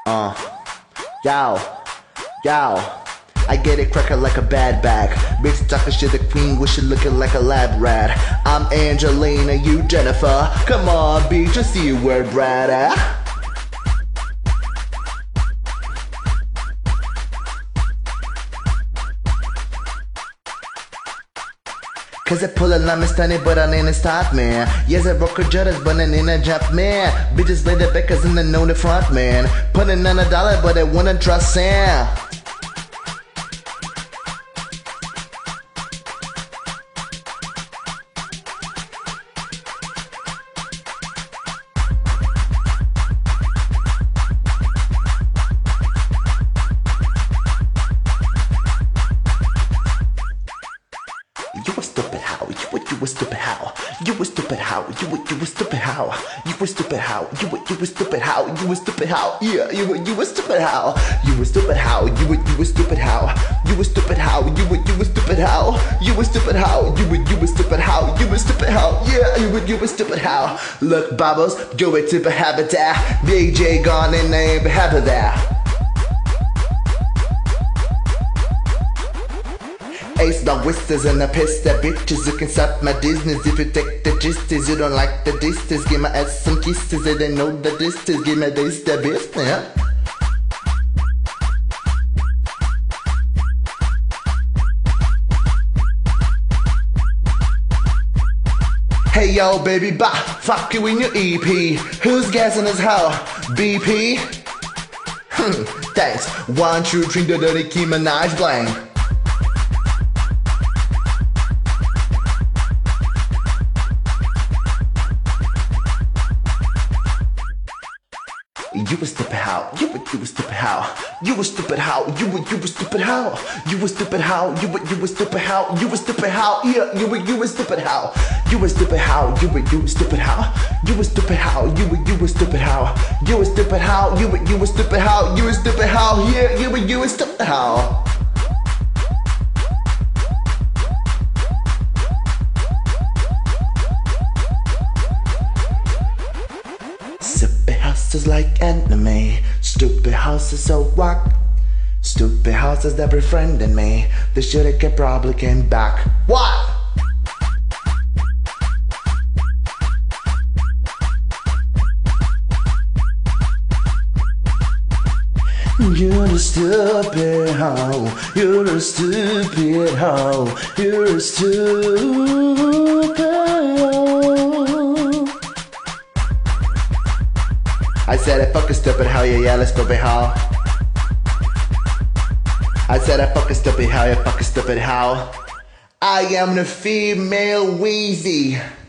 Uh, yow, yow. I get it cracker like a bad bag. Bitch talking shit, the queen, wish you looking like a lab rat. I'm Angelina, you Jennifer. Come on, bitch, I see where Brad at. Cause I pull a llama stunning but I ain't a start man. Yes I broke her jutters but I ain't a jump man. Bitches lay the backers and I know the front man. Putting on $1 but I wouldn't trust Sam. You a stupid how, you a stupid how, you a stupid how, you a stupid how, you a stupid how, you a stupid how, you a stupid how, yeah, you a stupid how, you a stupid how, you a stupid how, you a stupid how, you a stupid how, you a stupid how, you a stupid how, you a stupid how, yeah, you a stupid how. Look Bubbles, you a stupid habitat, BJ gone and I ain't happy there. Ace dog whistles and I piss that bitches. You can stop my business if you take the gist. You don't like the distance, give my ass some kisses. They don't know the distance, give me this the business, yeah. Hey yo baby bye, fuck you in your EP. Who's gassing his how? BP? Thanks, 1, 2, 3, the Nicki Minaj blank. You a stupid how, you a stupid how, you a stupid how, you a stupid how, you a stupid how, you a stupid how, you a stupid how, yeah, you a stupid how, you a stupid how, you a stupid how, you a stupid how, you a stupid how, you a stupid how, you a stupid how, you a stupid how, yeah, you a stupid how. Stupid houses like anime. Stupid houses so what? Stupid houses that befriended me. They should've probably came back. What? You're a stupid hoe. You're a stupid hoe. You're a stupid hoe. I said I fucking stupid how, yeah, yeah, let's stupid how. I said I fucking stupid how, yeah, fucking stupid how. I am the female Weezy.